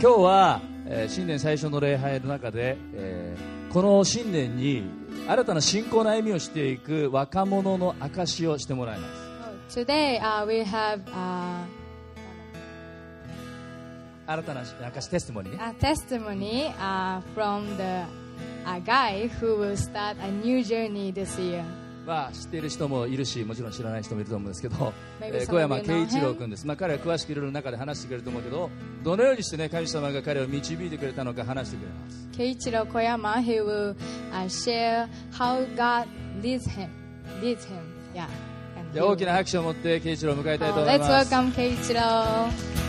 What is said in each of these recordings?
日は、新年最初の礼拝の中で、この新年に新たな信仰の歩みをしていく若者の証をしてもらいます。 Today, we have 新たな証、テストモニーね。 a testimony from the guy who will start a new journey this year. 知っている人もいるし、もちろん知らない人もいると思うんですけど、 Maybe 小山 some of you 慶 know 一郎 him. 君です。彼は詳しくいろいろ中で話してくれると思うけど、どのようにしてね、神様が彼を導いてくれたのか話してくれます。 Keiichiro Koyama, he will share how God leads him. Yeah. じゃあ大きな拍手を持って慶一郎を迎えたいと思い Let's ます。 welcome Keiichiro.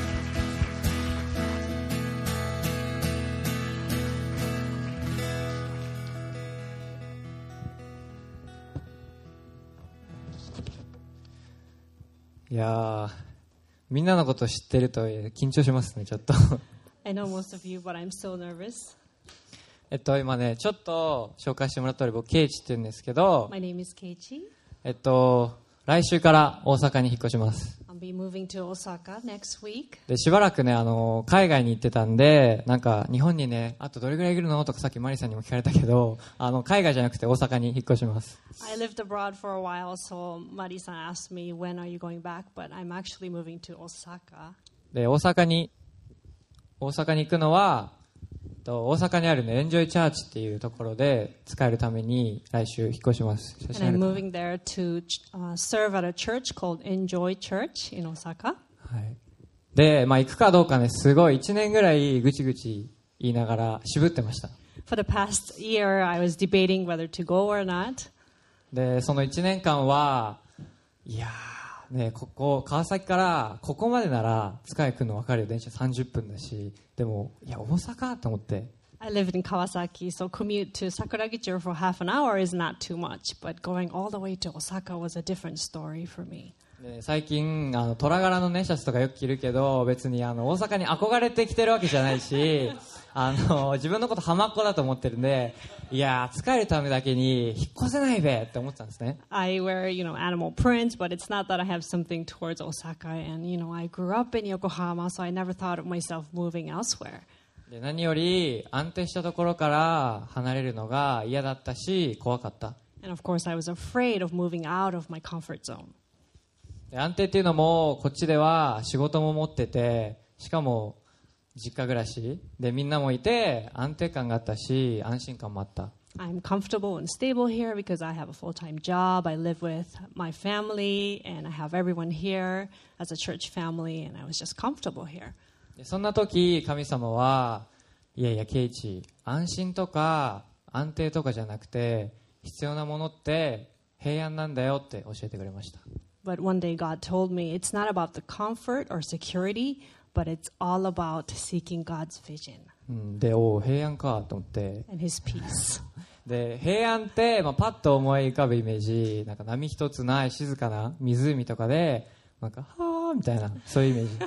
いやー、みんなのこと知ってるとはいえ緊張しますね、ちょっと。 I know most of you, but I'm so nervous. 今ね、ちょっと紹介してもらった通り、僕、ケイチって言うんですけど、 My name is Keiichi. 来週から大阪に引っ越します。 I'll be moving to Osaka next week. で、しばらくね、海外に行ってたんで、なんか、日本にね、あとどれぐらいいるのとかさっきマリさんにも聞かれたけど、海外じゃなくて大阪に引っ越します。 I lived abroad for a while, so Mari-san asked me, when are you going back? But I'm actually moving to Osaka. で、大阪に行くのは、大阪にあるね、エンジョイチャーチっていうところで使えるために来週引っ越します。 And I'm moving there to serve at a church called Enjoy Church in Osaka. はい。で、行くかどうかね、すごい1年ぐらいぐちぐち言いながら渋ってました。 For the past year, I was debating whether to go or not. で、その1年間は、いやー、ね、川崎からここまでなら使い来るの分かるよ。電車30分だし。でも、いや、大阪と思って。 I live in Kawasaki, so commute to Sakuragicho for half an hour is not too much, but going all the way to Osaka was a different story for me. で最近虎柄のねシャツとかよく着るけど、別に大阪に憧れて着てるわけじゃないし自分のこと浜っ子だと思ってるんで、いやー、使えるためだけに引っ越せないべって思ってたんですね。 I wear, animal prints, but it's not that I have something towards Osaka, and, I grew up in Yokohama, so I never thought of myself moving elsewhere. で何より安定したところから離れるのが嫌だったし怖かった。 And of course, I was afraid of moving out of my comfort zone. で安定っていうのもこっちでは仕事も持ってて、しかも実家暮らしでみんなもいて安定感があったし安心感もあった。 I'm comfortable and stable here because I have a full-time job. I live with my family, and I have everyone here as a church family, and I was just comfortable here. でそんな時神様はいやいやケイチ、安心とか安定とかじゃなくて必要なものって平安なんだよって教えてくれました。 But one day God told me it's not about the comfort or security, but it's all about seeking God's vision で平安かと思って、 and His peace. で平安って、パッと思い浮かぶイメージ、なんか波一つない静かな湖とかでなんかはーみたいな、そういうイメージ。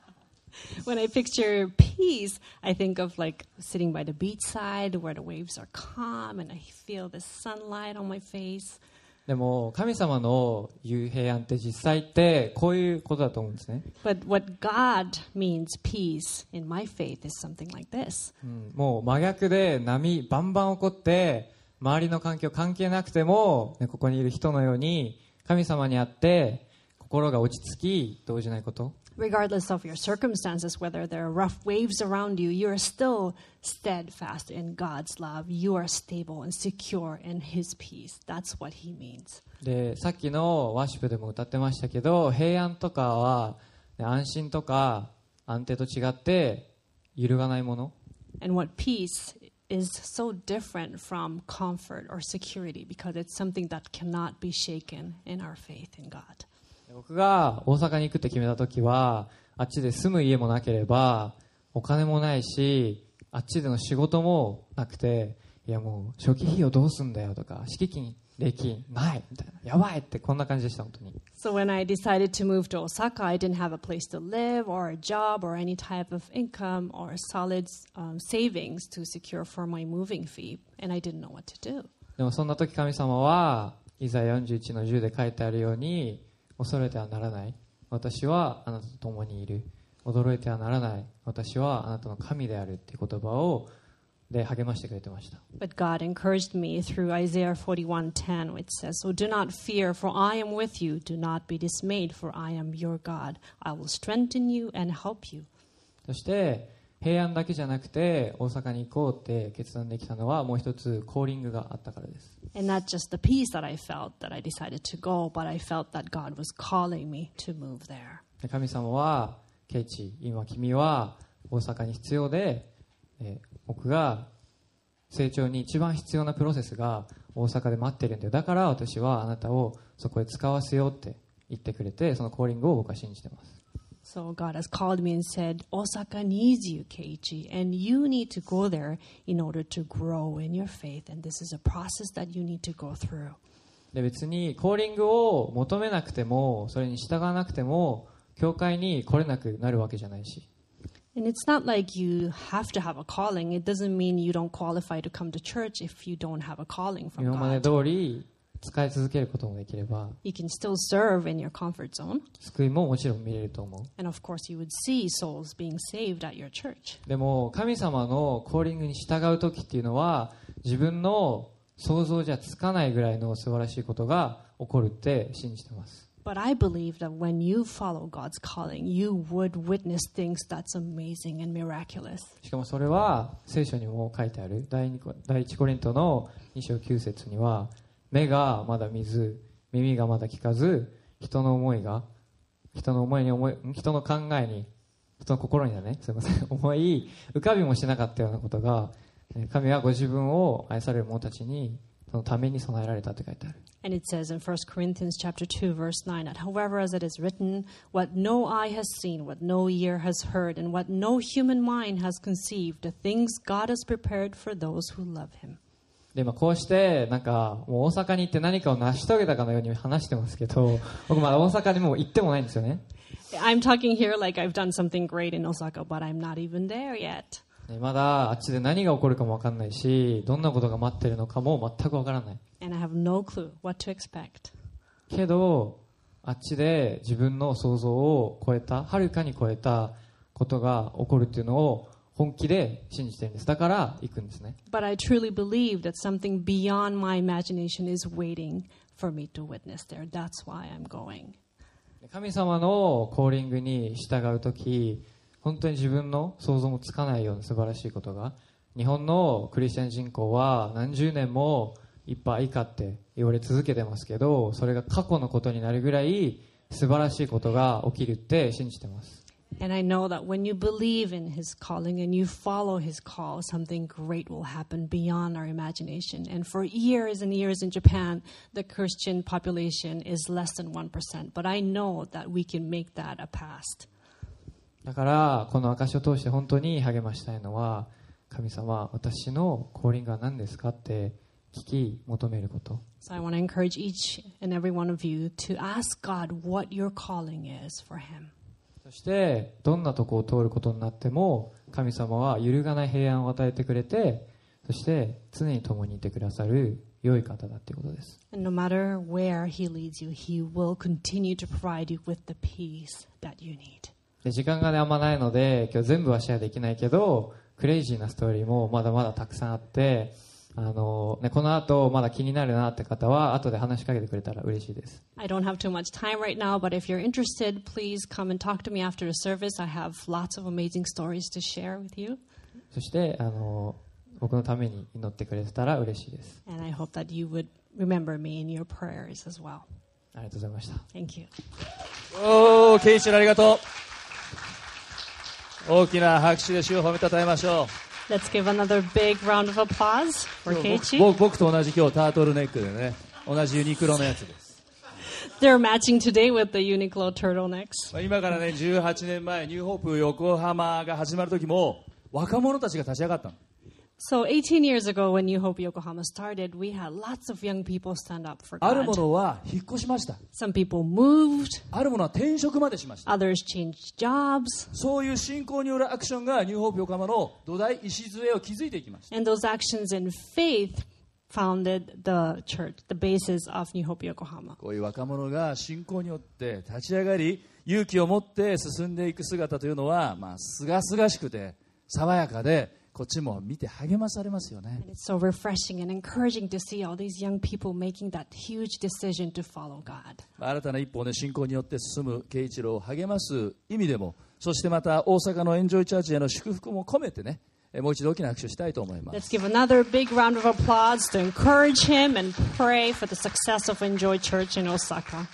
When I picture peace, I think of like sitting by the beachside where the waves are calm and I feel the sunlight on my face. でも神様の言う平安って実際ってこういうことだと思うんですね。 But what God means peace in my faith is something like this. もう真逆で波バンバン起こって周りの環境関係なくても、ここにいる人のように神様にあって心が落ち着き動じないこと。 Regardless of your circumstances, whether there are rough waves around you, you are still steadfast in God's love. You are stable and secure in His peace. That's what He means. でさっきのワーシップでも歌ってましたけど、平安とかは安心とか安定と違って揺るがないもの。 And what peace is so different from comfort or security because it's something that cannot be shaken in our faith in God. 僕が大阪に行くって決めた時は、あっちで住む家もなければお金もないし、あっちでの仕事もなくて、いやもう初期費用どうすんだよとか、敷金礼金ないみたいな、やばいってこんな感じでした本当に。 So when I decided to move to Osaka, I didn't have a place to live or a job or any type of income or solid savings to secure for my moving fee, and I didn't know what to do. でもそんな時神様はイザヤ41の10で書いてあるように、恐れてはならない、私はあなたと共にいる、 驚いてはならない、私はあなたの神であるっていう言葉をで励ましてくれてました。 But God encouraged me through Isaiah 41:10, which says, So do not fear, for I am with you. Do not be dismayed, for I am your God. I will strengthen you and help you. そして平安だけじゃなくて大阪に行こうって決断できたのはもう一つコーリングがあったからです。 And not just the peace that I felt that I decided to go, but I felt that God was calling me to move there. 神様はケイチ、今君は大阪に必要で、僕が成長に一番必要なプロセスが大阪で待ってるんだよ、だから私はあなたをそこへ使わせようって言ってくれて、そのコーリングを僕は信じてます。 So God has called me and said, Osaka needs you, Keiichi, and you need to go there in order to grow in your faith, and this is a process that you need to go through. で別にコーリングを求めなくてもそれに従わなくても教会に来れなくなるわけじゃないし、 And it's not like you have to have a calling. It doesn't mean you don't qualify to come to church if you don't have a calling from 今まで God. 通り使い続けることもできれば You can still serve in your comfort zone. 救いももちろん見れると思う。 And of course, you would see souls being saved at your church. でも神様のコーリングに従う時っていうのは自分の想像じゃつかないぐらいの素晴らしいことが起こるって信じてます。 But I believe that when you follow God's calling, you would witness things that's amazing and miraculous. しかもそれは聖書にも書いてある第一コリントの2章9節には、目がまだ見ず耳がまだ聞かず、人の考えに人の心にだね、すみません、思い浮かびもしなかったようなことが神はご自分を愛される者たちにそのために備えられたって書いてある。 And it says in 1 Corinthians chapter 2, verse 9, that however as it is written, what no eye has seen, what no ear has heard, and what no human mind has conceived, the things God has prepared for those who love him. でこうしてなんかもう大阪に行って何かを成し遂げたかのように話してますけど、僕まだ大阪にもう行ってもないんですよね。 I'm talking here like I've done something great in Osaka, but I'm not even there yet. まだあっちで何が起こるかも分かんないし、どんなことが待ってるのかも全く分からない。 And I have no clue what to expect. けどあっちで自分の想像を超えた、はるかに超えたことが起こるっていうのを本気で信じてるんです。だから行くんですね。 But I truly believe that something beyond my imagination is waiting for me to witness there. That's why I'm going. 神様のコーリングに従うとき、本当に自分の想像もつかないような素晴らしいことが、日本のクリスチャン人口は何十年もいっぱい以下って言われ続けてますけど、それが過去のことになるぐらい素晴らしいことが起きるって信じてます。 And I know that when you believe in his calling and you follow his call, something great will happen beyond our imagination. And for years and years in Japan, the Christian population is less than 1%. But I know that we can make that a past. だからこの証を通して本当に励ましたいのは、神様、私のコーリングは何ですかって聞き求めること。 So I want to encourage each and every one of you to ask God what your calling is for him. そしてどんなとこを通ることになっても神様は揺るがない平安を与えてくれて、そして常に共にいてくださる良い方だということです。 And no matter where he leads you, he will continue to provide you with the peace that you need. で時間が、ね、あんまないので今日全部はシェアできないけど、クレイジーなストーリーもまだまだたくさんあって、この後まだ気になるなって方は後で話しかけてくれたら嬉しいです。 I don't have too much time right now, but if you're interested, please come and talk to me after the service. I have lots of amazing stories to share with you. そして僕のために祈ってくれてたら嬉しいです。 And I hope that you would remember me in your prayers as well. ありがとうございました。 Thank you. おー、ケイチありがとう。大きな拍手で主を褒めたたえましょう。 Let's give another big round of applause for Keiichi. 僕と同じ今日タートルネックでね、同じユニクロのやつです。 They're matching today with the Uniqlo turtlenecks. 今からね、18年前ニューホープ横浜が始まる時も若者たちが立ち上がったの。 So 18 years ago when New Hope Yokohama started, we had lots of young people stand up for あるも God. のは引っ越しました。 Some people moved, あるものは転職までしました。 others changed jobs, そういう信仰によるアクションがニューホープ横浜の土台礎を築いていきました。 and those actions in faith founded the church, the basis of New Hope Yokohama. こういう若者が信仰によって立ち上がり、 勇気を持って進んでいく姿というのは、すがすがしくて爽やかで、こっちも見て励まされますよね。 And it's so refreshing and encouraging to see all these young people making that huge decision to follow God. 新たな一歩を、信仰によって進む圭一郎を励ます意味でも、そしてまた大阪のエンジョイチャーチへの祝福も込めてね、もう一度大きな拍手をしたいと思います。 Let's give another big round of applause to encourage him and pray for the success of Enjoy Church in Osaka.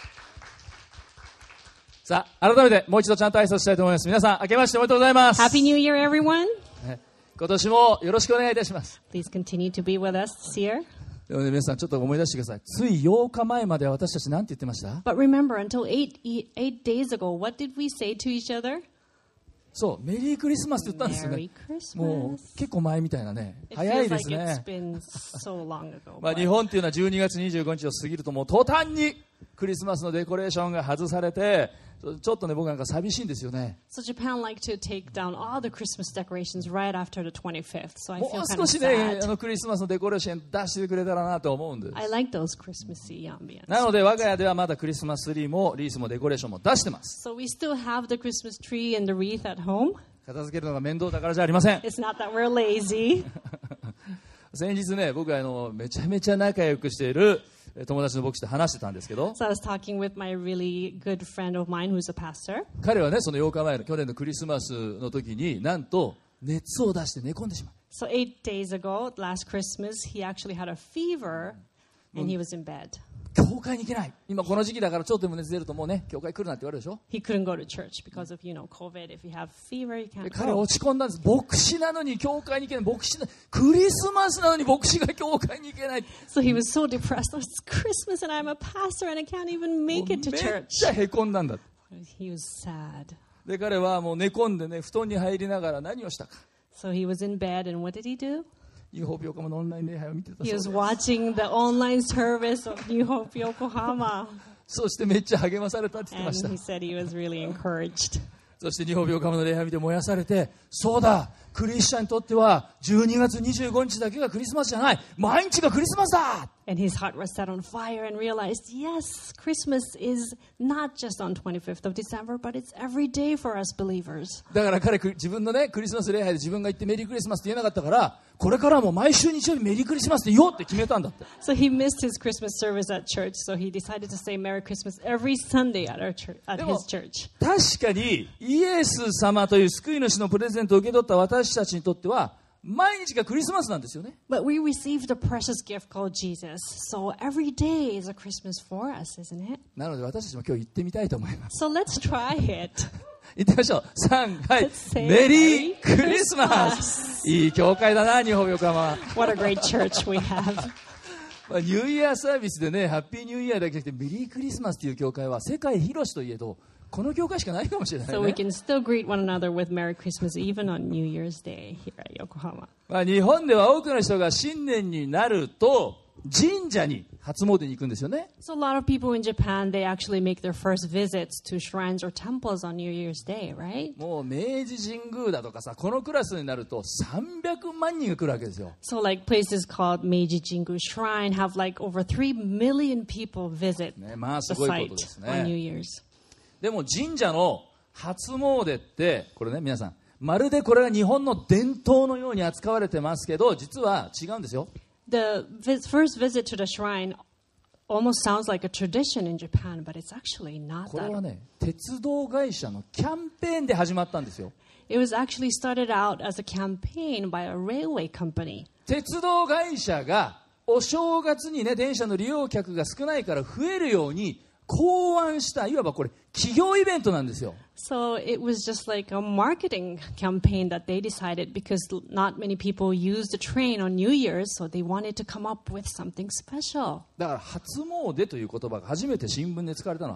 さあ、改めてもう一度ちゃんと挨拶したいと思います。皆さん、明けましておめでとうございます。 Happy New Year, everyone. 今年もよろしくお願いいたします。 Please continue to be with us this year. でもね、皆さんちょっと思い出してください。つい8日前までは私たち何て言ってました？ But remember, until eight days ago, what did we say to each other? そう、メリークリスマスって言ったんですよ Merry ね。 Christmas. もう結構前みたいなね。 It 早い feels で like す it's ね。 been so long ago. 日 but 本っていうのは12月25日を過ぎるともう途端にクリスマスのデコレーションが外されて、ちょっとね、僕なんか寂しいんですよね。 So Japan like to take down all the Christmas decorations right after the 25th. So I も feel う kind 少 of しね、 sad. クリスマスのデコレーション出してくれたらなと思うんです。 I like those Christmassy ambience. なので我が家ではまだクリスマスツリーもリースもデコレーションも出してます。 So we still have the Christmas tree and the wreath at home. 片付けるのが面倒だからじゃありません。 It's not that we're lazy. 先日ね、僕はめちゃめちゃ仲良くしている友達の牧師と話してたんですけど、 So I was talking with my really good friend of mine who's a pastor. 彼はね、その8日前の去年のクリスマスの時になんと熱を出して寝込んでしまう。 So 8 days ago, last Christmas, he actually had a fever and he was in bed. 教会に行けない。今この時期だからちょっとでも熱出るともうね、教会来るなって言われるでしょ。 He couldn't go to church because of, COVID. If you have fever, you で can't 彼は go. 落ち込んだんです。牧師なのに教会に行けない。クリスマスなのに牧師が教会に行けない。 So he was so depressed. Oh, it's Christmas and I'm a pastor and I can't even make it め to っちゃ church. へこんだんだ。 He was sad. で彼はもう寝込んでね、布団に入りながら何をしたか。 So he was in bed and what did he do? ニューホープ横浜のオンライン礼拝を見てたそう He で was す。 watching the online service of New Hope Yokohama. そしてめっちゃ励まされたって言って And ました。 he said he was really encouraged. そして日本横浜の礼拝を見て燃やされて、そうだ、クリスチャンにとっては12月25日だけがクリスマスじゃない、毎日がクリスマスだ。 And his heart was set on fire and realized, yes, Christmas is not just on 25th of December, but it's every day for us believers. だから彼、自分のね、クリスマス礼拝で自分が言ってメリークリスマスって言えなかったから、これからはもう毎週日曜日メリークリスマスって言おうって決めたんだって。 So he missed his Christmas service at church, so he decided to say Merry Christmas every Sunday at our church, at his church. 確かにイエス様という救い主のプレゼントを受け取った私たちにとっては毎日がクリスマスなんですよね。 But we received a precious gift called Jesus, so every day is a Christmas for us, isn't it? なので私たちも今日行ってみたいと思います。 So let's try it. 行ってみましょう。3、はい Let's say メリークリスマ Merry ス。いい教会だな、日本横浜は。 What a great church we have. ニューイヤーサービスでね、ハッピーニューイヤーだけじゃなくてメリークリスマスという教会は世界広しといえどこの教会しかないかもしれない So we ね。 can still greet one another with Merry Christmas even on New Year's Day here at Yokohama. 日本では多くの人が新年になると神社に初詣に行くんですよね。 So a lot of people in Japan, they actually make their first visits to shrines or temples on New Year's Day, right? もう明治神宮だとかさ、このクラスになると300万人が来るわけですよ。 So like places called Meiji Jingu Shrine have like over 3 million people visit ね、まあす the ごいこと site です on New ね。 Year's. でも神社の初詣ってこれね、皆さんまるでこれが日本の伝統のように扱われてますけど実は違うんですよ。 The first visit to the shrine almost sounds like a tradition in Japan, but it's actually not これは that. ね、鉄道会社のキャンペーンで始まったんですよ。 It was actually started out as a campaign by a railway company. 鉄道会社がお正月にね、電車の利用客が少ないから増えるように考案したいわばこれ企業イベントなんですよ。 So it was just like a marketing campaign that they decided because not many people use the train on New Year's, so they wanted to come up with something special. だから初詣という言葉が初めて新聞で使われたのは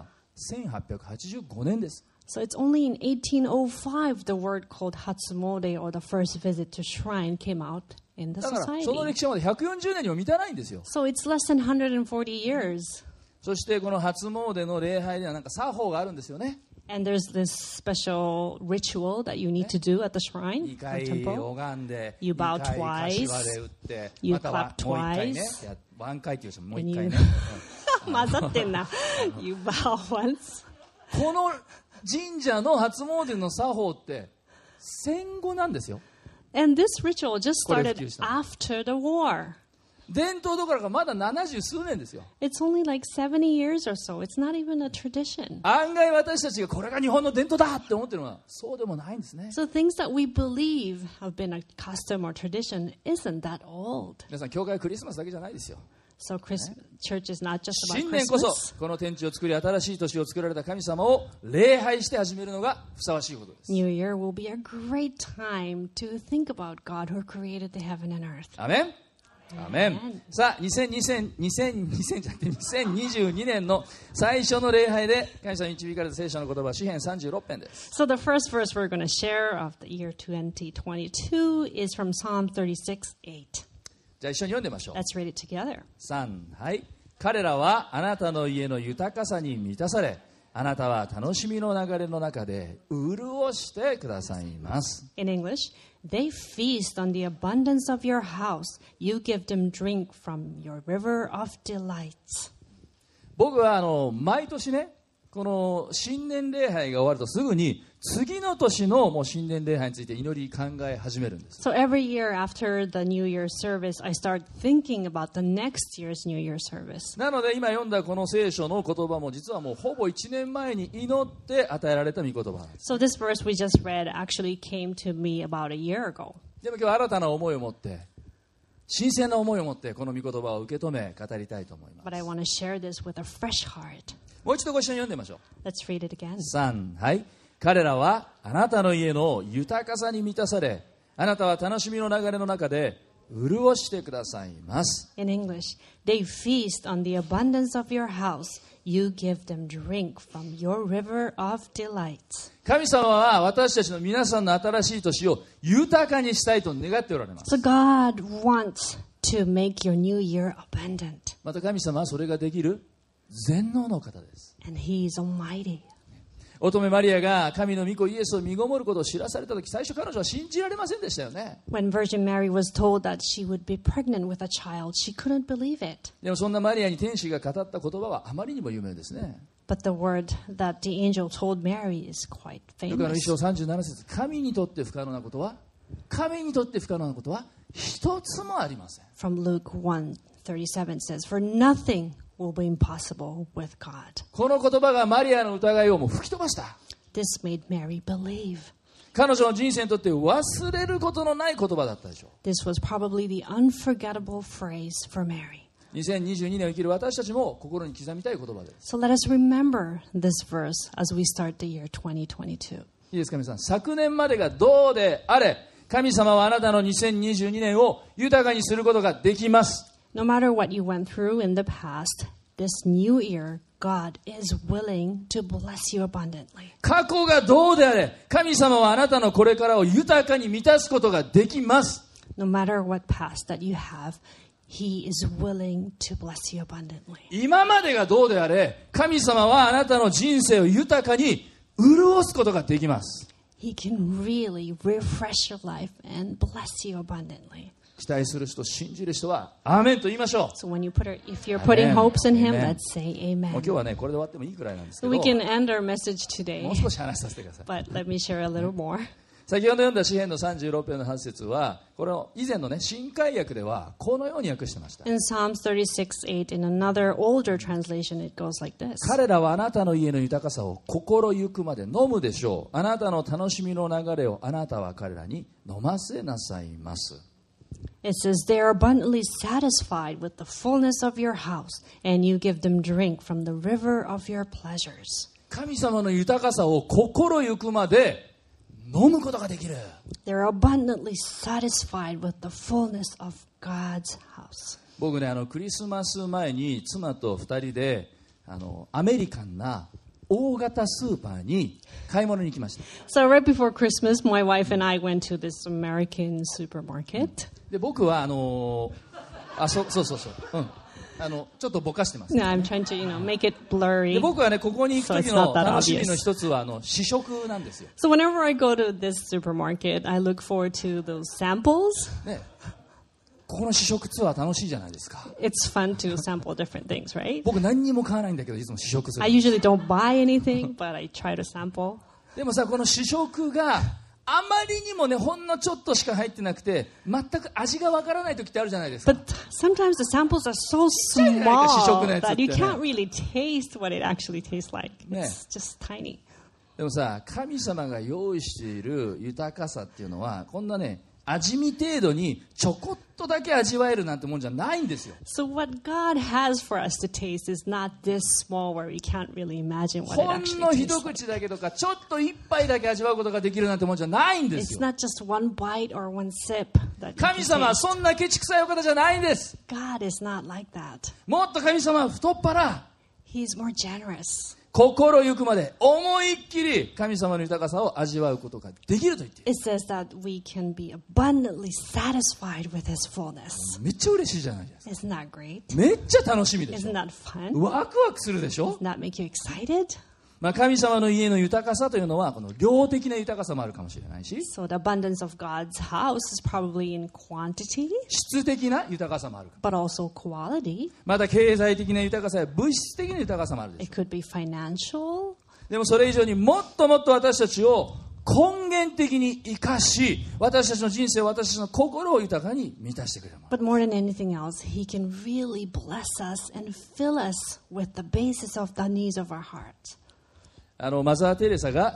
1885年です。 So it's only in 1805 the word called Hatsumode or the first visit to shrine came out in the だからその society. 歴史はまだ140年にも満たないんですよ。 So it's less than 140 years. そしてこの初詣の礼拝ではなんか作法があるんですよね。 And there's this special ritual that you need to do at the shrine 2 or 回 temple. 拝んで You 2 bow 回 twice. 柏で打って You または clap もう1回ね twice. ワン回っていう人ももう1回ね And 混ざってんな. You bow once. この神社の初詣の作法って戦後なんですよ。 And this ritual just これ普 started 及した。 after the war. 伝統どころかまだ70数年ですよ。 It's only like 70 years or so. It's not even a tradition. 案外私たちがこれが日本の伝統だって思ってるのはそうでもないんですね。 So things that we believe have been a custom or tradition isn't that old. 皆さん教会はクリスマスだけじゃないですよ。 So church is not just about 新年こそ Christmas. この天地を作り新しい年を作られた神様を礼拝して始めるのがふさわしいことです。 New Year will be a great time to think about God who created the heaven and earth. アメン。アメン。さあ2022年の最初の礼拝で神様に導かれた聖書の言葉は詩編36編です。 So the first verse we're going to share of the year 2022 is from Psalm 36:8. じゃあ一緒に読んでみましょう。 Let's read it together. 3、はい。彼らはあなたの家の豊かさに満たされ、あなたは楽しみの流れの中で潤してくださいます。 In English, they feast on the abundance of your house. You give them drink from your river of delights. 僕は毎年ね、この新年礼拝が終わるとすぐに次の年のもう新年礼拝について祈り考え始めるんです。 So every year after the New Year service, I start thinking about the next year's New Year service. なので今読んだこの聖書の言葉も実はもうほぼ1年前に祈って与えられた御言葉なんです。 So this verse we just read actually came to me about a year ago. でも今日新たな思いを持って新鮮な思いを持ってこの御言葉を受け止め語りたいと思います。 But I want to share this with a fresh heart. もう一度ご一緒に読んでみましょう。 Let's read it again. 3、はい。彼らはあなたの家の豊かさに満たされ、あなたは楽しみの流れの中で潤してくださいます。 In English, they feast on the abundance of your house. You give them drink from your river of delights. 神様は私たちの皆さんの新しい年を豊かにしたいと願っておられます。 So God wants to make your new year abundant. また神様はそれができる全能の方です。 And He is almighty. 乙女マリアが神の御子イエスを身ごもることを知らされたとき、最初彼女は信じられませんでしたよね。 When Virgin Mary was told that she would be pregnant with a child, she couldn't believe it. でもそんなマリアに天使が語った言葉はあまりにも有名ですね。 But the word that the angel told Mary is quite ルカの famous. 1章37節、神にとって不可能なことは一つもありません。 From Luke 1:37 says, For nothing will be impossible with God. この言葉がマリアの疑いをもう吹き飛ばした。 This made Mary believe. 彼女の人生にとって忘れることのない言葉だったでしょう。 This was probably the unforgettable phrase for Mary. 2022年を生きる私たちも心に刻みたい言葉です。 So let us remember this verse as we start the year 2022. いいですか皆さん。昨年までがどうであれ、神様はあなたの2022年を豊かにすることができます。 No matter what you went through in the past, this new year, God is willing to bless you abundantly. 過去がどうであれ、神様はあなたのこれからを豊かに満たすことができます。 No matter what past that you have, He is willing to bless you abundantly. 今までがどうであれ、神様はあなたの人生を豊かに潤すことができます。 He can really refresh your life and bless you abundantly. 期待する人、信じる人はアーメンと言いましょ So when you if you're putting Amen. hopes in Him, Amen. let's say う。もう Amen. 今日はね、これで終わってもいいくらいなんですけ So ど、 we can end our message もう today, 少し話させてください。 but let me share a little more. 先ほど読んだ詩編の36編の8節は、これを以前のね、新海訳ではこのように訳してました。 In Psalms 36:8, in another older translation, it goes like this. 彼らはあなたの家の豊かさを心ゆくまで飲むでしょう。あなたの楽しみの流れをあなたは彼らに飲ませなさいます。 It says, They are abundantly satisfied with the fullness of your house, and you give them drink from the river of your pleasures. 神様の豊かさを心ゆくまで飲むことができる。 They're abundantly satisfied with the fullness of God's house. 僕ね、クリスマス前に妻と2人でアメリカンな大型スーパーに買い物に行きました。 So right before Christmas, my wife and I went to this American supermarket. で僕はそう、ちょっとぼかしてます。 No, I'm trying to, make it で blurry. 僕はね、ここに行く So 時 it's の not that 楽しみ obvious. の一つは試食なんですよ。 So whenever I go to this supermarket, I look forward to those samples. ね、 ここの試食ツアー楽しいじゃないですか。 It's fun to sample different things, right? 僕何にも買わないんだけどいつも試食する。 I usually don't buy anything, but I try to sample. でもさ、この試食があまりにもね、ほんのちょっとしか入ってなくて全く味がわからない時ってあるじゃないですか。 But sometimes the samples are so Yeah, like a small shishok that you ne. can't really taste what it actually tastes like. Yeah. It's just tiny. でもさ、神様が用意している豊かさっていうのはこんなね、味見程度にちょこっとだけ味わえるなんてもんじゃないんですよ。 So what God has for us to taste is not this small where we can't really imagine what it ほん actually の tastes 一 like. 口だけとかちょっと一杯だけ味わうことができるなんてもんじゃないんです It's よ。 not just one bite or one sip that you 神 can 様は taste. そんなケチくさいお方じゃないんです。 God is not like that. もっと神様は太っ腹、 He's more generous. 心ゆくまで思いっきり神様の豊かさを味わうことができると言っている。 It says that we can be abundantly satisfied with His fullness. めっちゃ嬉しいじゃないですか。 Isn't that great? めっちゃ楽しみでし Isn't ょ。 that fun? ワクワクするでしょ。 Doesn't that make you excited? まあ、神様の家の豊かさというのはこの量的な豊かさもあるかもしれないし、 So the abundance of God's house is probably in quantity, 質的な豊かさもあるかも。 but also quality. また経済的な豊かさや物質的な豊かさもあるでし It ょ could be financial. う。でもそれ以上にもっともっと私たちを根源的に生かし、私たちの人生、私たちの心を豊かに満たしてくれるもの。 But more than anything else, He can really bless us and fill us with the basis of the needs of our heart. マザー・テレサが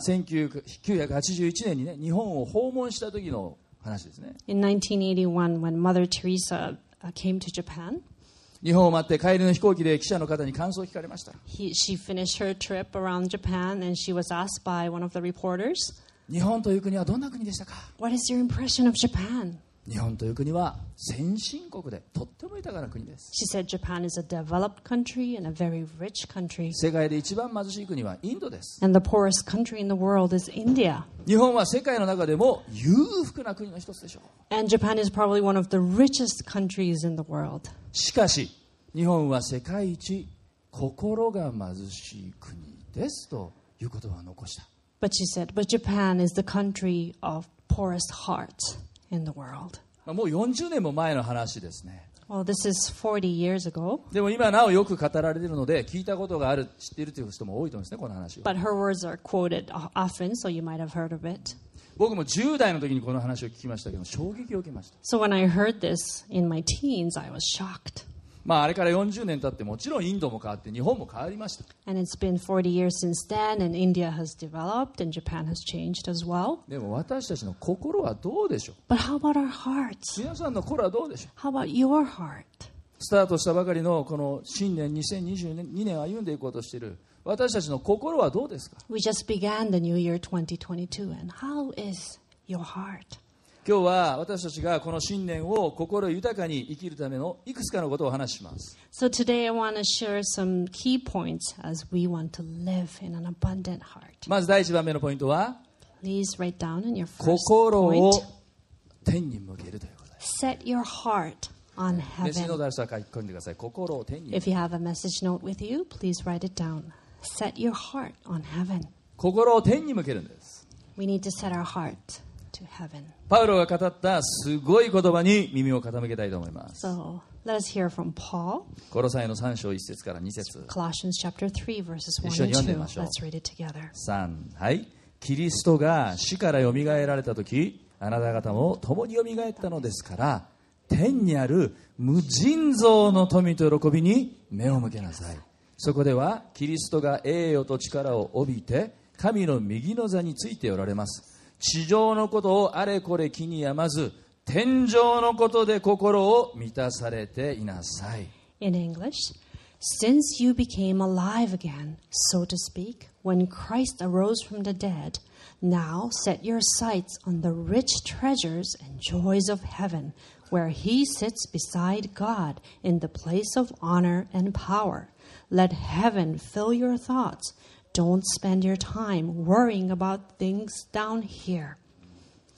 1981年にね、日本を訪問した時の話ですね。 In 1981, when Mother Teresa came to Japan, 日本を待って帰りの飛行機で記者の方に感想を聞かれました。 she finished her trip around Japan and she was asked by one of the reporters, 日本という国はどんな国でしたか。 "What is your impression of Japan?" 日本という国は先進国でとっても豊かな国です。 She said Japan is a developed country and a very rich country. 世界で一番貧しい国はインドです。 And the poorest country in the world is India. 日本は世界の中でも裕福な国の一つでしょう。 And Japan is probably one of the richest countries in the world. しかし日本は世界一心が貧しい国ですということは残した。 But she said, but Japan is the country of poorest heart in the world. もう40年も前の話ですね。 Well, this is 40 years ago. でも今なおよく語られているので聞いたことがある、知っているという人も多いと思うんですね、この話を。 But her words are quoted often, so you might have heard of it. 僕も10代の時にこの話を聞きましたけど衝撃を受けました。 So when I heard this in my teens, I was shocked. あれから40年経ってもちろんインドも変わって日本も変わりました。 And it's been 40 years since then, and India has developed, and Japan has changed as well. でも私たちの心はどうでしょう。 But how about our hearts? 皆さんの心はどうでしょう。 How about your heart? スタートしたばかりのこの新年2022年歩んでいこうとしている私たちの心はどうですか。 We just began the new year 2022, and how is your heart? 今日は私たちがこの新年を心豊かに生きるためのいくつかのことをお話しします。 So today I want to share some key points as we want to live in an abundant heart. まず第1番目のポイントは Please write down in your first 心 point, を天に向けるということです。 set your heart on メッセージノー heaven. トある人は書き込んでください。心を天に向ける。 If you have a message note with you, please write it down. Set your heart on heaven. 心を天に向けるんです。 We need to set our heart to heaven. パウロが語ったすごい言葉に耳を傾けたいと思います。 So let us hear from Paul, コロサイの3章1節から2節 Colossians chapter 3, verses 1 and 2. 一緒に読んでみましょう。 Let's read it together. 3、はい。キリストが死からよみがえられたとき、あなた方も共によみがえったのですから、天にある無尽蔵の富と喜びに目を向けなさい。そこではキリストが栄誉と力を帯びて神の右の座についておられます。地上のことをあれこれ気にやまず、天上のことで心を満たされていなさい。 In English, since you became alive again, so to speak, when Christ arose from the dead, now set your sights on the rich treasures and joys of heaven, where he sits beside God in the place of honor and power. Let heaven fill your thoughts. Don't spend your time worrying about things down here.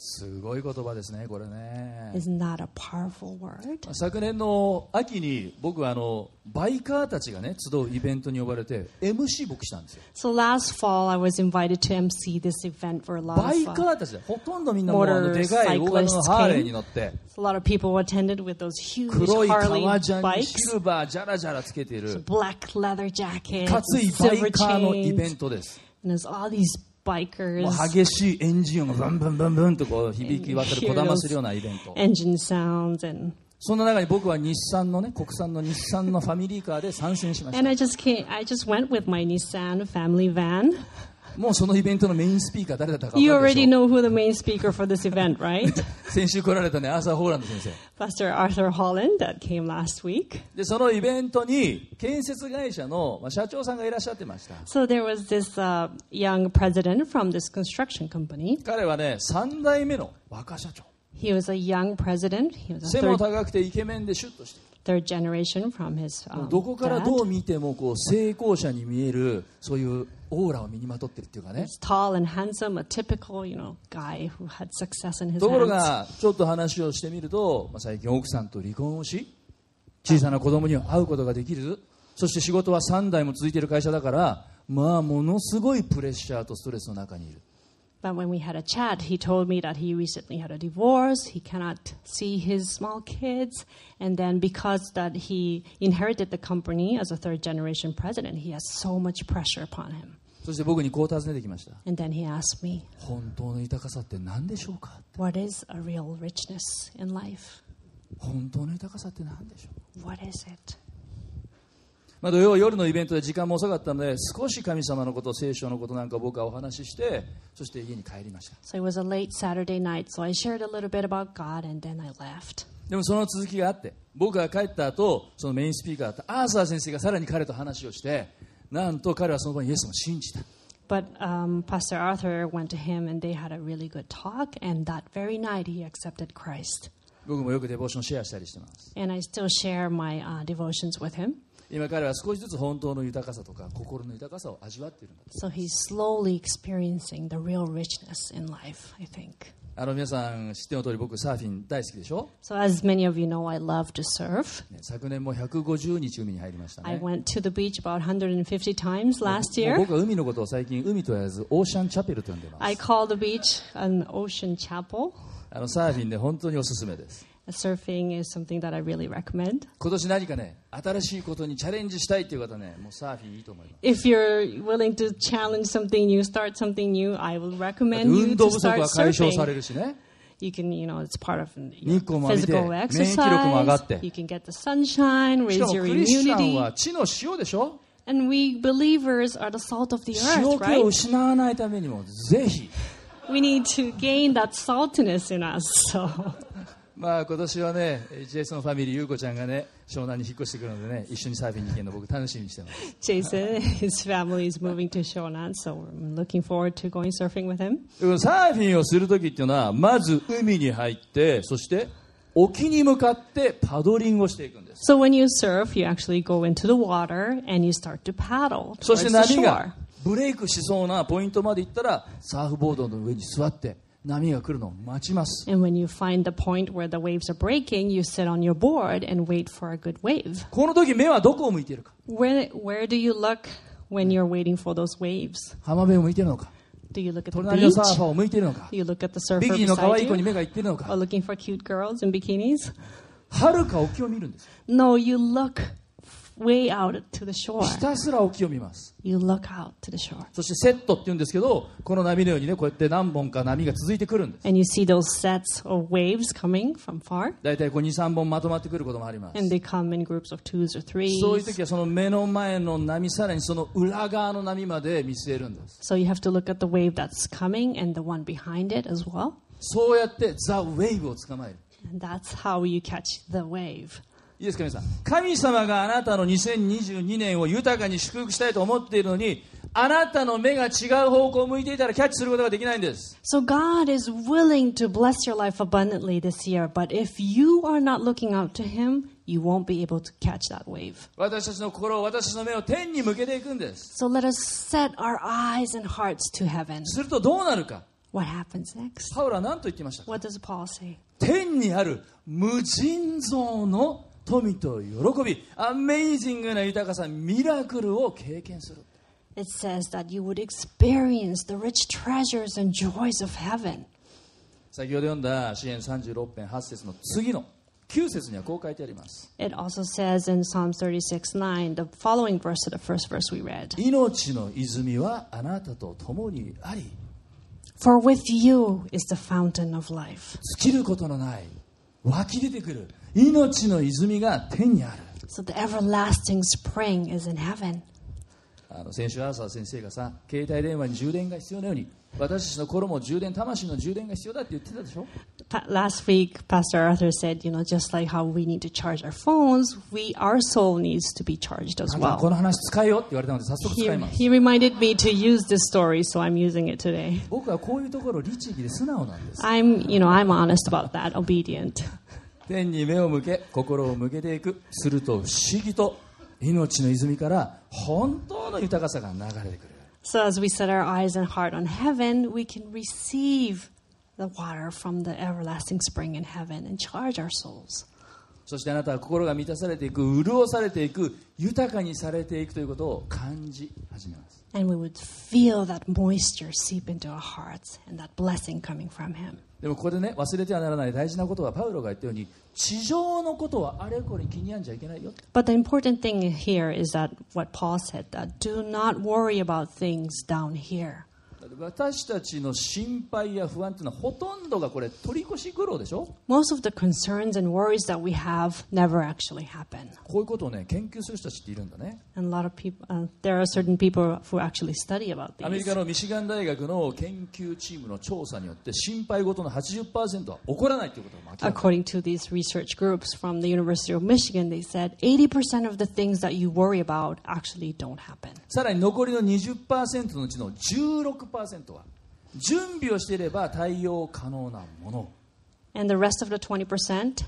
すごい言葉ですね、これね。 Isn't that a powerful word? 昨年の秋に僕はバイカーたちがね集うイベントに呼ばれて MC 僕したんですよ。 So last fall, I was invited to MC this event for a lot バイ of カーたちでほとんどみんなもうでかい大型の Motorcyclists ハーレーに乗って a lot of people attended with those huge 黒い Harley 革ジャンに bikes, シルバージャラジャラつけている black leather jackets, かつ and いバイ silver カーのイベン chains, トです。 and there's all these も bikers, う激しいエンジン音がブンブンブンブンとこう響き渡るこだまするようなイベント。 engine sounds, and そんな中に僕は日産のね国産の日産のファミリーカーで参戦しました。 I just went with my Nissan family van. もうそのイベントのメインスピーカー誰だったか分 You かるでし already ょう。 know who the main speaker for this event, right? 先週来られたねアーサー・ホーランド先生 Pastor Arthur Holland that came last week. で、そのイベントに建設会社の社長さんがいらっしゃってました。 So there was this young president from this construction company. 彼はね3代目の若社長。 He was a young president. He was a 背も高くてイケメンでシュッとして third generation from his どこからど dad. う見てもこう成功者に見えるそういうオーラを身にまとってるっていうかね。 He's tall and handsome, a typical, guy who had success in his ところ hands. がちょっと話をしてみると、最近奥さんと離婚をし小さな子供には会うことができず、そして仕事は3代も続いている会社だから、ものすごいプレッシャーとストレスの中にいる。 But when we had a chat, he told me that he recently had a divorce. He cannot see his small kids. And then because that he inherited the company as a third generation president, he has so much pressure upon him. そして僕にこう尋ねてきました。 And then he asked me, 本当の豊かさって何でしょうか。 what is a real richness in life? 本当の豊かさって何でしょう。 What is it? 土曜夜のイベントで時間も遅かったので少し神様のこと聖書のことなんか僕はお話ししてそして家に帰りました。 So it was a late Saturday night, so I shared a little bit about God and then I left. でもその続きがあって僕が帰った後そのメインスピーカーだったアーサー先生がさらに彼と話をしてなんと彼はその場にイエスを信じた。 But Pastor Arthur went to him and they had a really good talk, and that very night he accepted Christ. 僕もよくデボーションシェアしたりしてます。 And I still share my devotions with him. 今彼は少しずつ本当の豊かさとか心の豊かさを味わっているんだと。 So he's slowly experiencing the real richness in life, I think. 皆さん知っての通り僕サーフィン大好きでしょ。 So as many of you know, I love to surf. 昨年も150日海に入りましたね。 I went to the beach about 150 times last もう year. 僕は海のことを最近海と言わずオーシャンチャペルと呼んでいます。 I call the beach an ocean chapel. サーフィンで本当におすすめです。 Surfing is something that I really recommend. 今年何かね新しいことにチャレンジしたいという方ねもうサーフィンいいと思います。 If you're willing to challenge something new, start something new, I will だって recommend you 運動 to 不足 start は解消され surfing. るしね。 You can, it's part of 日光も浴びて physical 免疫力も上がって exercise. You can get the sunshine, しか raise も your クリスチャン immunity. は地の塩でしょ。 And we believers are the salt of the 塩 earth, 気を right? 失わないためにもぜひ We need to gain that saltiness in us. So 今年はねジェイソンファミリーゆうこちゃんがね湘南に引っ越してくるのでね一緒にサーフィンに行けるの僕楽しみにしてます。 Jason, his family is moving to Shonan, so I'm looking forward to going surfing with him. サーフィンをするときっていうのはまず海に入ってそして沖に向かってパドリングをしていくんです。 So when you surf, you actually go into the water and you start to paddle そ towards して the 波 shore. がブレイクしそうなポイントまで行ったらサーフボードの上に座って波が来るのを待ちます。 And when you find the point where the waves are breaking, you sit on your board and wait for a good wave. この時目はどこを向いているか。 Where do you look when you're waiting for those waves? 浜辺を向いているのか Do you look at the 隣の beach? サーファーを向いているのか Do you look at the ビ surfer キニの可 beside 愛い子に you? 目がいっているの Or か looking for cute girls in bikinis? 遥か沖を見るんです。 No, you look way out to the shore. ひたすら沖を見ます。 You look out to the shore. そしてセットって言うんですけどこの波のようにねこうやって何本か波が続いてくるんです。 And you see those sets of waves coming from far. だいたいこう 2,3 本まとまってくることもあります。 And they come in groups of 2s or 3s. そういう時はその目の前の波さらにその裏側の波まで見据えるんです。 So you have to look at the wave that's coming and the one behind it as well. そうやってザ・ウェイブを捕まえる。 And that's how you catch the wave. いいですか皆さん。神様があなたの2022年を豊かに祝福したいと思っているのにあなたの目が違う方向を向いていたらキャッチすることができないんです。 So God is willing to bless your life abundantly this year, but if you are not looking out to Him, you won't be able to catch that wave. 私たちの心を私たちの目を天に向けていくんです。 So let us set our eyes and hearts to heaven. するとどうなるか。 What happens next? パウロは何と言っていましたか？ What does Paul say? 天にある無尽蔵の富と喜び、アメイジングな豊かさ、ミラクルを経験する。 It says that you would experience the rich treasures and joys of heaven. 先ほど読んだ詩編36編8節の次の9節にはこう書いてあります。 It also says in Psalm 36:9, the following verse to the first verse we read. 命の泉はあなたと共にあり、 For with you is the fountain of life. 尽きることのない湧き出てくる命の泉が天にある。 So the everlasting spring is in heaven. 先週朝先生がさ、携帯電話に充電が必要なように、私たちの心も充電、魂の充電が必要だって言ってたでしょ。 Last week, Pastor Arthur said, just like how we need to charge our phones, our soul needs to be charged as なんかこ well. の話使えよって言われたので早速使います。 He reminded me to use this story, so I'm using it today. 僕はこういうところ律儀で素直なんです。 I'm honest about that, obedient. 天に目を向け、心を向けていく。すると不思議と命の泉から本当の豊かさが流れてくる。 So as we set our eyes and heart on heaven, we can receive the water from the everlasting spring in heaven and charge our souls. そしてあなたは心が満たされていく、潤されていく、豊かにされていくということを感じ始めます。 And we would feel that moisture seep into our hearts and that blessing coming from him. でもここでね、忘れてはならない大事なことは、パウロが言ったように、地上のことはあれこれ気に病んじゃいけないよ。 But the important thing here is that what Paul said, that do not worry about things down here. 私たちの心配や不安というのはほとんどがこれ取り越し苦労でしょ。 Most of the concerns and worries that we have never actually happen. こういうことをね、研究する人たちっているんだね。 And a lot of people, there are certain people who actually study about アメリ these. カのミシガン大学の研究チームの調査によって、心配事の 80% は起こらないということが明らか。 According to these research groups from the University of Michigan, they said 80% of the things that you worry about actually don't happen. さらに残りの 20% のうちの 16% は準備をしていれば対応可能なもの。 And the rest of the 20%,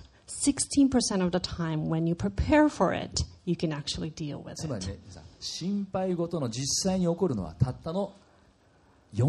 16% of the time when you prepare for it, you can actually deal with つまり it. ね、心配事の実際に起こるのはたったの 4%。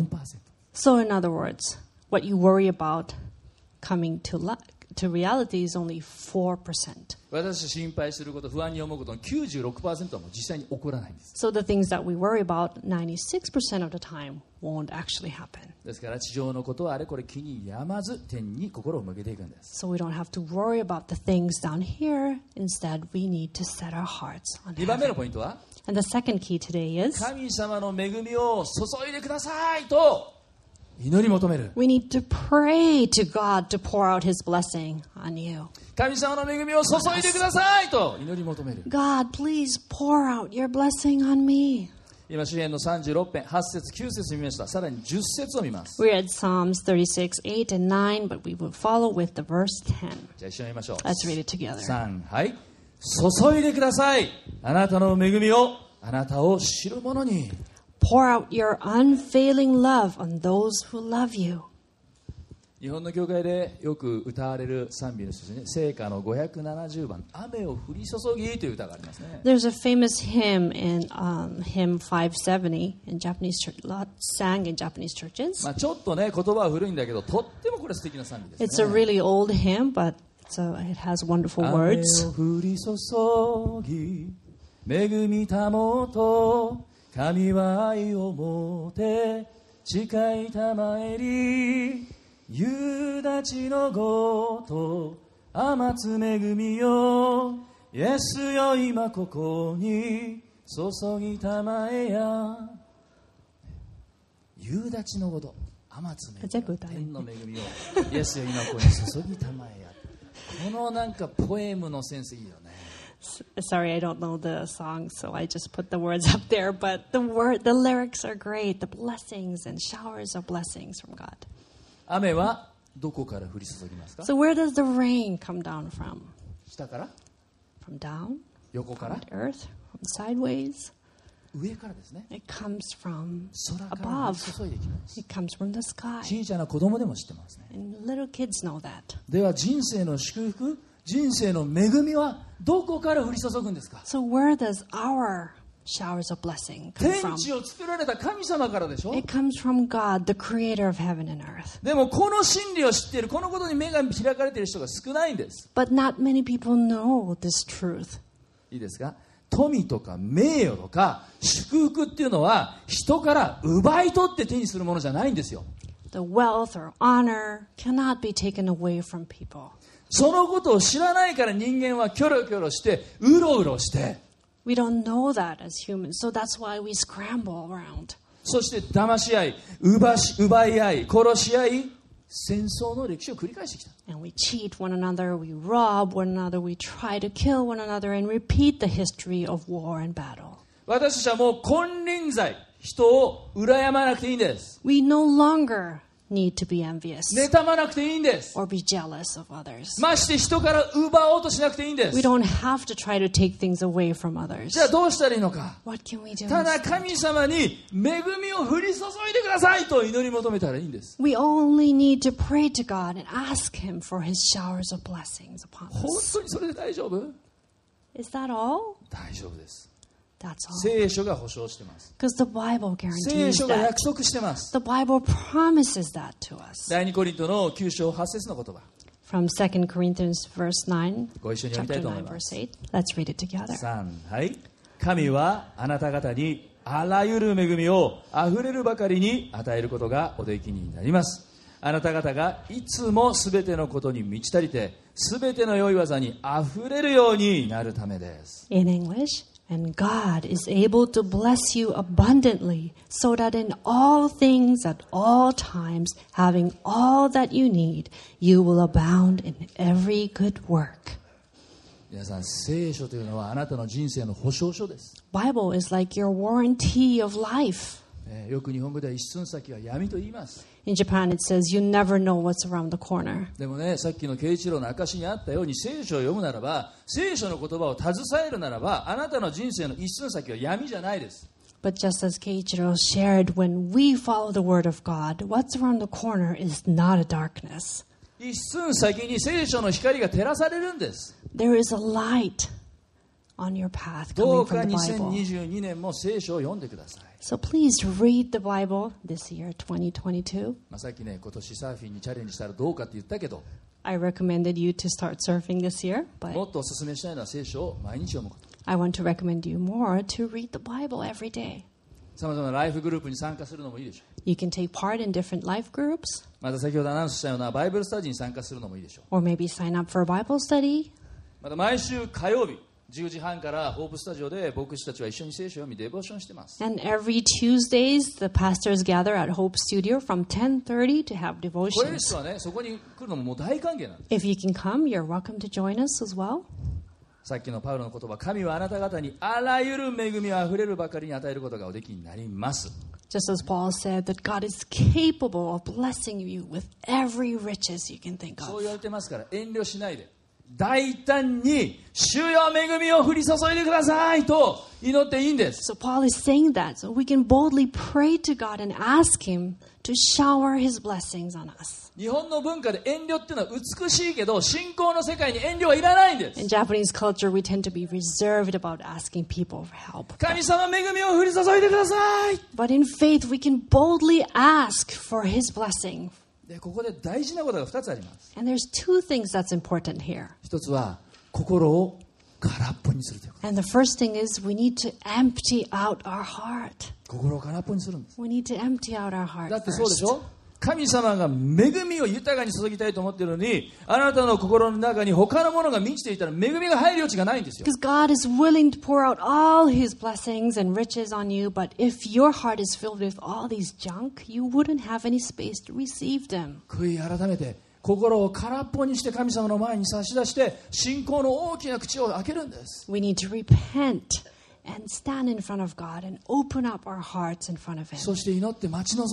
So in other words, what you worry about coming to reality is only 4%. 私たち心配すること、不安に思うことの 96% はもう実際に起こらないんです。 So the things that we worry about 96% of the time won't actually happen. ですから地上のことはあれこれ気に病まず天に心を向けていくんです。 So we don't have to worry about the things down here. Instead, we need to set our hearts on 2番目の heaven. ポイントは、 And the second key today is 神様の恵みを注いでくださいと祈り求める。 we need to pray to God to pour out His blessing on you. 神様の恵みを注いでくださいと祈り求める。 God, please pour out your blessing on me. 今詩篇の36編8節9節見ました。さらに10節を見ます。 We read Psalms 36, 8 and 9, but we will follow with the verse 10. じゃあ一緒に見ましょう。 Let's read it together. 3、はい。注いでください。あなたの恵みをあなたを知る者に。 Pour out your unfailing love on those who love you. 日本の教会でよく歌われる賛美の一つに、聖歌の570番、雨を降り注ぎという歌がありますね。 There's a famous hymn in hymn 570 in Japanese church, sang in Japanese churches. まあ、ちょっとね、言葉は古いんだけど、とってもこれ素敵な賛美です It's a ね。 really old hymn, but it has wonderful 雨 words. を降り注ぎ、恵みたもと、神は愛をもて、誓いたまえり、夕立のごと、雨つ恵みよ、イエスよ今ここに、注ぎたまえや。夕立のごと、雨つ恵みよ、天の恵みを、イエスよ今ここに注ぎたまえや。このなんかポエムのセンスいいよね。 Sorry, I don't know the song, so I just put the words up there. But the lyrics are great. The blessings and showers of blessings from God. 雨はどこから降り注ぎますか？ So where does the rain come down from? 下から？ From down? 横から？ From the earth? From sideways? 上からですね。 It comes from 空から降 above. り注いできます。 It comes from the sky. 小さな子供でも知ってますね。 And little kids know that. では人生の祝福、人生の恵みはどこから降り注ぐんですか？ So where does our showers of blessing come 天 from? 地を作られた神様からでしょ。 It comes from God, the creator of heaven and earth. でもこの真理を知っている、このことに目が開かれている人が少ないんです。 But not many people know this truth. いいですか。富とか名誉とか祝福っていうのは人から奪い取って手にするものじゃないんですよ。 The wealth or honor cannot be taken away from people. そのことを知らないから人間はキョロキョロしてうろうろして、 We don't know that as humans, so that's why we scramble around. そして騙し合い、奪い合い、殺し合い、戦争の歴史を繰り返してきた。 And we cheat one another, we rob one another, we try to kill one another, and repeat the history of war and battle. 私たちはもう金輪際、人を羨まなくていいんです。 We no longer need to be envious 妬まなくていいんです。 or be jealous of others. まして人から奪おうとしなくていいんで We す。 don't have to try to take things away from others. じゃあどうしたらいいのか。 What can we do ただ instead? 神様に恵みを降り注いでくださいと祈り求めたらいいんです。 We only need to pray to God and ask Him for His showers of blessings upon 本 us. 当にそれで大丈夫？ Is that all? 大丈夫です。 That's all. 聖書が保証してます。 Because the Bible 聖 guarantees 書が that. 約束してます。 The Bible promises that to us. 第2コリントの9章8節の言葉。 From 2 Corinthians verse 9, ご一緒に読みた chapter いと思い 9, ます。 verse 8. Let's read it together. 3、はい。神はあなた方にあらゆる恵みをあふれるばかりに与えることがおできになります。あなた方がいつもすべてのことに満ち足りて、すべての良い技にあふれるようになるためです。 In English, and God is able to bless you abundantly, so that in all things at all times, having all that you need, you will abound in every good work. 皆さん、聖書というのはあなたの人生の保証書です。 Bible is like your warranty of life. よく日本語では一寸先は闇と言います。 In Japan, it says you never know what's around the corner. でもね、さっきの慶一郎の証にあったように、聖書を読むならば、聖書の言葉を携えるならば、あなたの人生の一寸先は闇じゃないです。 But just as Keiichiro shared, when we follow the word of God, what's around the corner is not a darkness. 一寸先に聖書の光が照らされるんです。 There is a light on your path ど coming うか from the Bible. 2022年も聖書を読んでください。 So please read the Bible this year, 2022. さっきね、今年サーフィンにチャレンジしたらどうかって言ったけど、 I recommended you to start surfing this year, も but っとお勧めしたいのは聖書を毎日読むこと。 I want to recommend you more to read the Bible every day. さまざまなライフグループに参加するのもいいでしょ You can take part in different life groups, う。また先ほどアナウンスしたようなバイブルスタディに参加するのもいいでしょう。 or maybe sign up for a Bible study. また毎週火曜日10時半からホープスタジオで牧師たちは一緒に聖書を読みデボーションしてます。 And every Tuesdays, the pastors gather at Hope Studio from 10:30 to have これで devotions. すはね、そこに来るのももう大歓迎なんです。 If you can come, you're welcome to join us as well. さっきのパウロの言葉、神はあなた方にあらゆる恵みをあふれるばかりに与えることがおできになります。 Just as Paul said that God is capable of blessing you with every riches you can think そう of. 言われてますから遠慮しないで大胆に主よ恵みを降り注いでくださいと祈っていいんです。 So Paul is saying that so we can boldly pray to God and ask Him to shower His blessings on us. 日本の文化で遠慮っていうのは美しいけど信仰の世界に遠慮はいらないんです。 In Japanese culture, we tend to be reserved about asking people for help. 神様恵みを降り注いでください。 But in faith, we can boldly ask for His blessing. でここで大事なことが2つあります。 And there's two things that's important here. 一つは心を空っぽにするということ。 And the first thing is we need to empty out our heart. 心を空っぽにするんです。 We need to empty out our heart だってそうでし first. ょ。神様が恵みを豊かに注ぎたいと思っているのに、あなたの心の中に他のものが満ちていたら恵みが入る余地がないんですよ。 Because God is willing to pour out all His blessings and riches on you, but if your heart is filled with all these junk, you wouldn't have any space to receive them. 悔い改めて心を空っぽにして神様の前に差し出して信仰の大きな口を開けるんです。 We need to repent and stand in front of God and open up our hearts in front of Him そして祈って待ち望む。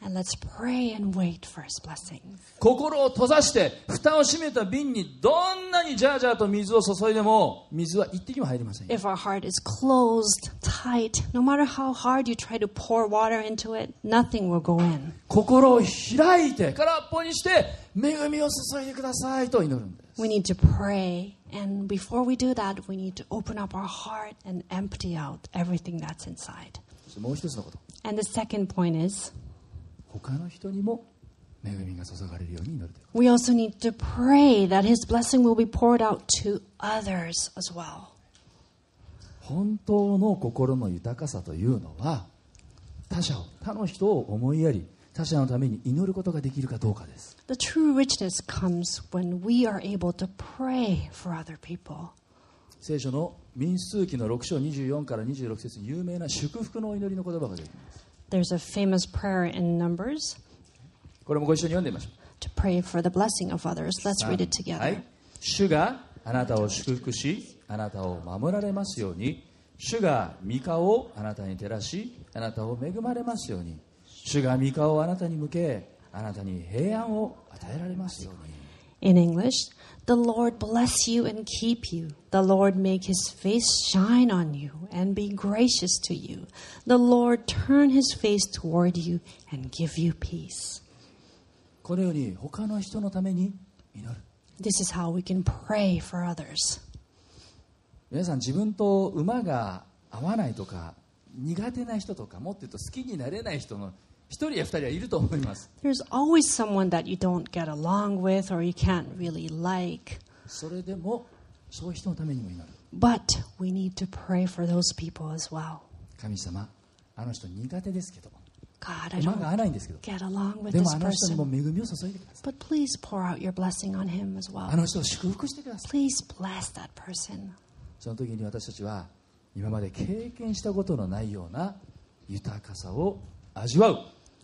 And let's pray and wait for His blessings. 心を閉ざして蓋を閉めた瓶にどんなにジャージャーと水を注いでも水は一滴も入りません。 If our heart is closed, tight, no matter how hard you try to pour water into it, nothing will go in. 心を開いて空っぽにして恵みを注いでくださいと祈るんです。 We need to pray, and before we do that, we need to open up our heart and empty out everything that's inside. そしてもう一つのこと、 And the second point is, 他の人にも恵みが注がれるように祈るという。 we also need to pray that His blessing will be poured out to others as well. 本当の心の豊かさというのは他の人を思いやり他者のために祈ることができるかどうかです。 The true richness comes when we are able to pray for other people. 聖書の民数記の6章24から26節に有名な祝福のお祈りの言葉が出てきます。 There's a famous prayer in Numbers これもご一緒に読んでみましょ to pray for the blessing of others. Let's う。 read it together. はい、主があなたを祝福しあなたを守られますように、主が御顔をあなたに照らしあなたを恵まれますように、主が御顔をあなたに向けあなたに平安を与えられますように。 In English, the Lord bless you and keep you. The Lord make His face shine on you and be gracious to you. The Lord turn His face toward you and give you peace. このように他の人のために祈る。 This is how we can pray for others. 皆さん自分と馬が合わないとか苦手な人とかもっと言うと好きになれない人の一人や二人はいると思います。 There's always someone that you don't get along with or you can't really like. それでもそういう人のためにも祈る。 But we need to pray for those people as well. 神様、あの人苦手ですけど God, I 馬が合 don't わないんですけど get along with で this もあの人にも person. 恵みを注いでください。 But please pour out your blessing on him as あ well. の人を祝福してください。 Please bless that person. その時に私たちは今まで経験したことのないような豊かさを味わう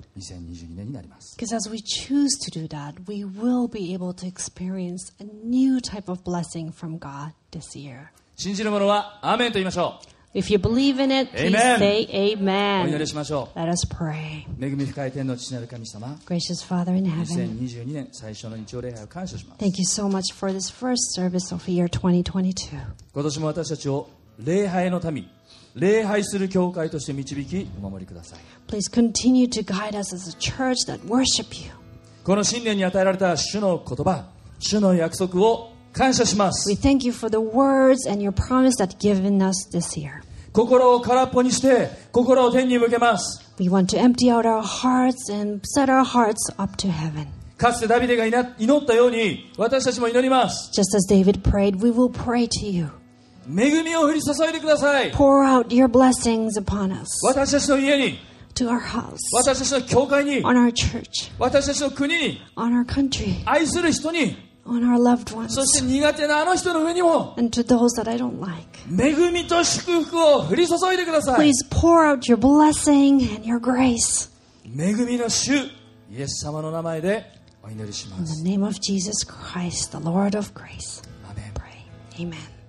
2022年になります。 Because as we choose to do that, we will be able to experience a new type of blessing from God this year. 信じる者はアーメンと言いましょ If you believe in it, please Amen. say う。お祈り amen. しましょ Let us pray. う。恵み深い天の父なる神様、 Gracious Father in heaven, 2022年最初の日曜礼拝を感謝します。 thank you so much for this first service of year 2022. 今年も私たちを礼拝の民、礼拝する教会として導きお守りください。 Please continue to guide us as a church that worship you. この新年に与えられた主の言葉、主の約束を感謝しま We す。 thank you for the words and your promise that given us this year. 心を空っぽにして心を天に向けます。 We want to empty out our hearts and set our hearts up to heaven. かつてダビデが祈ったように私たちも祈ります。 Just as David prayed, we will pray to you. 恵みを降り注いでください。 Pour out your blessings upon us, 私たちの家に、 to our house, 私たちの教会に、 on our church, 私たちの国に、 on our country, 愛する人に、 on our loved ones, そして苦手なあの人の上にも and to those that I don't like. 恵みと祝福を降り注いでください。 Please pour out your blessing and your grace. 恵みの主イエス様の名前でお祈りしま In す。 the name of Jesus Christ, the Lord of grace, アーメン。 pray. Amen.